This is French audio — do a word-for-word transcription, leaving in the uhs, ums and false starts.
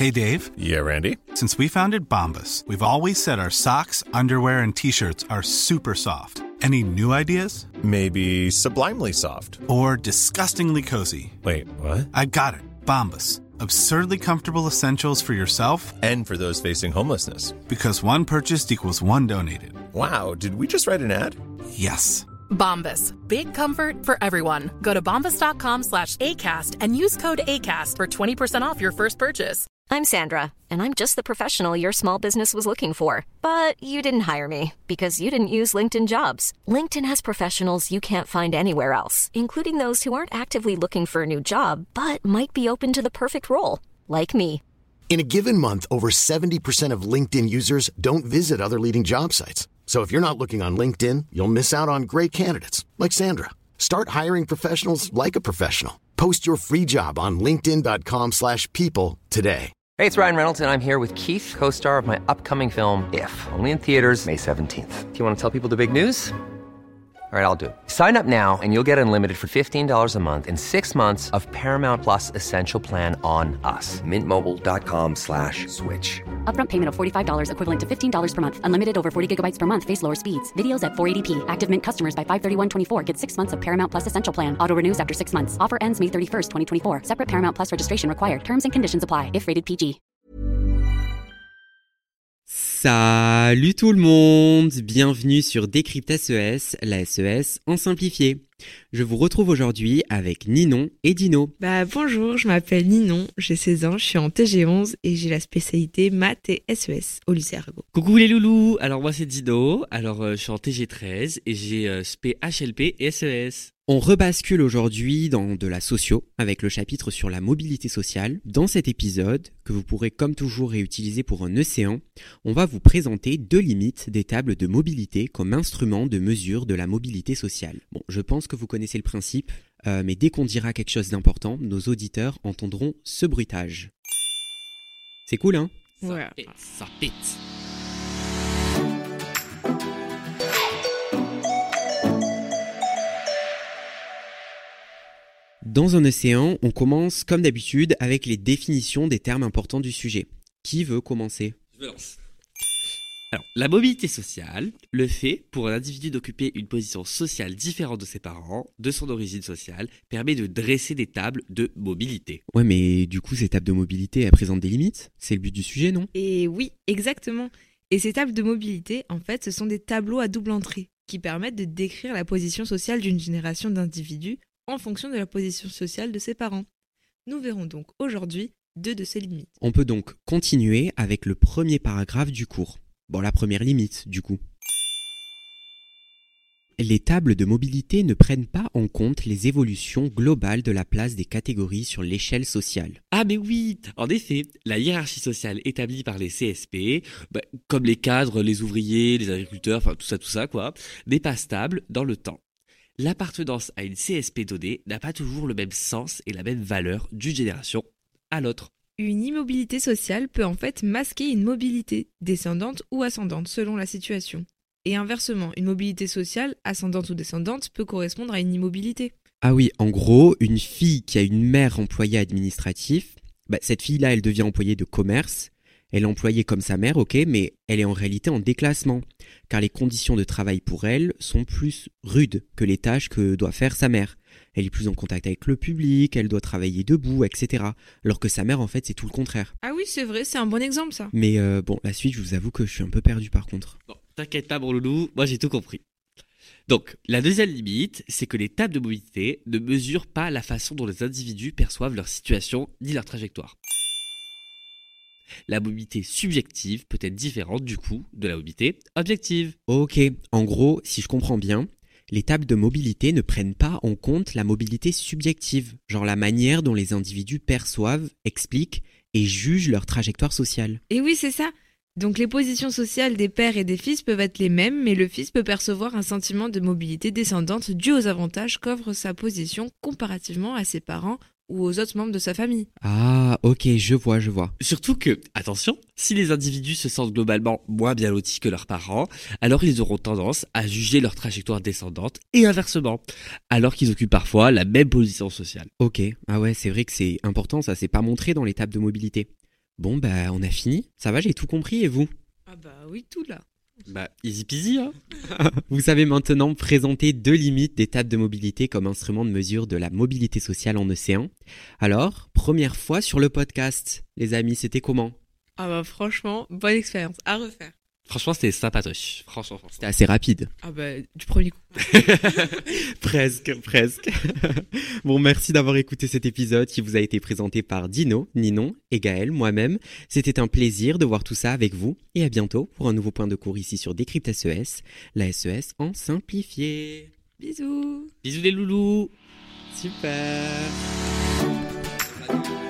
Hey, Dave. Yeah, Randy? Since we founded Bombas, we've always said our socks, underwear, and T-shirts are super soft. Any new ideas? Maybe sublimely soft. Or disgustingly cozy. Wait, what? I got it. Bombas. Absurdly comfortable essentials for yourself and for those facing homelessness. Because one purchased equals one donated. Wow, did we just write an ad? Yes. Bombas. Big comfort for everyone. Go to bombas.com slash ACAST and use code ACAST for twenty percent off your first purchase. I'm Sandra, and I'm just the professional your small business was looking for. But you didn't hire me because you didn't use LinkedIn Jobs. LinkedIn has professionals you can't find anywhere else, including those who aren't actively looking for a new job, but might be open to the perfect role, like me. In a given month, over seventy percent of LinkedIn users don't visit other leading job sites. So if you're not looking on LinkedIn, you'll miss out on great candidates like Sandra. Start hiring professionals like a professional. Post your free job on linkedin.com slash people today. Hey, it's Ryan Reynolds, and I'm here with Keith, co-star of my upcoming film, If, only in theaters May seventeenth. Do you want to tell people the big news? All right, I'll do it. Sign up now and you'll get unlimited for fifteen dollars a month and six months of Paramount Plus Essential Plan on us. Mint Mobile dot com slash switch. Upfront payment of forty-five dollars equivalent to fifteen dollars per month. Unlimited over forty gigabytes per month. Face lower speeds. Videos at four eighty p. Active Mint customers by five thirty-one twenty-four get six months of Paramount Plus Essential Plan. Auto renews after six months. Offer ends May thirty-first, twenty twenty-four. Separate Paramount Plus registration required. Terms and conditions apply if rated P G. Salut tout le monde, bienvenue sur Décrypte S E S, la S E S en simplifié. Je vous retrouve aujourd'hui avec Ninon et Dino. Bah bonjour, je m'appelle Ninon, j'ai seize ans, je suis en T G onze et j'ai la spécialité maths et S E S au lycée Arago. Coucou les loulous, alors moi c'est Dino, alors euh, je suis en T G treize et j'ai euh, spé H L P et S E S. On rebascule aujourd'hui dans de la socio avec le chapitre sur la mobilité sociale. Dans cet épisode, que vous pourrez comme toujours réutiliser pour un océan, on va vous présenter deux limites des tables de mobilité comme instrument de mesure de la mobilité sociale. Bon, je pense que vous connaissez le principe, euh, mais dès qu'on dira quelque chose d'important, nos auditeurs entendront ce bruitage. C'est cool, hein ? Ouais. Ça pète, ça pète. Dans un océan, on commence comme d'habitude avec les définitions des termes importants du sujet. Qui veut commencer ? Je me lance. Alors, la mobilité sociale, le fait pour un individu d'occuper une position sociale différente de ses parents, de son origine sociale, permet de dresser des tables de mobilité. Ouais, mais du coup, ces tables de mobilité, elles présentent des limites ? C'est le but du sujet, non ? Et oui, exactement. Et ces tables de mobilité, en fait, ce sont des tableaux à double entrée qui permettent de décrire la position sociale d'une génération d'individus en fonction de la position sociale de ses parents. Nous verrons donc aujourd'hui deux de ces limites. On peut donc continuer avec le premier paragraphe du cours. Bon, la première limite, du coup. Les tables de mobilité ne prennent pas en compte les évolutions globales de la place des catégories sur l'échelle sociale. Ah mais oui, en effet, la hiérarchie sociale établie par les C S P, bah, comme les cadres, les ouvriers, les agriculteurs, enfin tout ça, tout ça quoi, n'est pas stable dans le temps. L'appartenance à une C S P donnée n'a pas toujours le même sens et la même valeur d'une génération à l'autre. Une immobilité sociale peut en fait masquer une mobilité, descendante ou ascendante selon la situation. Et inversement, une mobilité sociale, ascendante ou descendante, peut correspondre à une immobilité. Ah oui, en gros, une fille qui a une mère employée administratif, bah, cette fille-là, elle devient employée de commerce. Elle est employée comme sa mère, ok, mais elle est en réalité en déclassement, car les conditions de travail pour elle sont plus rudes que les tâches que doit faire sa mère. Elle est plus en contact avec le public, elle doit travailler debout, et cetera. Alors que sa mère, en fait, c'est tout le contraire. Ah oui, c'est vrai, c'est un bon exemple, ça. Mais euh, bon, la suite, je vous avoue que je suis un peu perdu par contre. Bon, t'inquiète pas, mon loulou, moi j'ai tout compris. Donc, la deuxième limite, c'est que les tables de mobilité ne mesurent pas la façon dont les individus perçoivent leur situation ni leur trajectoire. La mobilité subjective peut être différente du coup de la mobilité objective. Ok, en gros, si je comprends bien, les tables de mobilité ne prennent pas en compte la mobilité subjective, genre la manière dont les individus perçoivent, expliquent et jugent leur trajectoire sociale. Et oui, c'est ça. Donc les positions sociales des pères et des fils peuvent être les mêmes, mais le fils peut percevoir un sentiment de mobilité descendante dû aux avantages qu'offre sa position comparativement à ses parents ou aux autres membres de sa famille. Ah, ok, je vois, je vois. Surtout que, attention, si les individus se sentent globalement moins bien lotis que leurs parents, alors ils auront tendance à juger leur trajectoire descendante et inversement, alors qu'ils occupent parfois la même position sociale. Ok, ah ouais, c'est vrai que c'est important, ça s'est pas montré dans les tables de mobilité. Bon bah on a fini. Ça va, j'ai tout compris et vous ? Ah bah oui, tout là. Bah, easy peasy, hein. Vous savez maintenant présenter deux limites des tables de mobilité comme instrument de mesure de la mobilité sociale en océan. Alors, première fois sur le podcast, les amis, c'était comment ? Ah bah franchement, bonne expérience, à refaire. Franchement, c'était sympatoche. Franchement, franchement. C'était assez rapide. Ah bah, du premier coup. Presque, presque. Bon, merci d'avoir écouté cet épisode qui vous a été présenté par Dino, Ninon et Gaël, moi-même. C'était un plaisir de voir tout ça avec vous. Et à bientôt pour un nouveau point de cours ici sur Décrypte S E S, la S E S en simplifié. Bisous. Bisous les loulous. Super.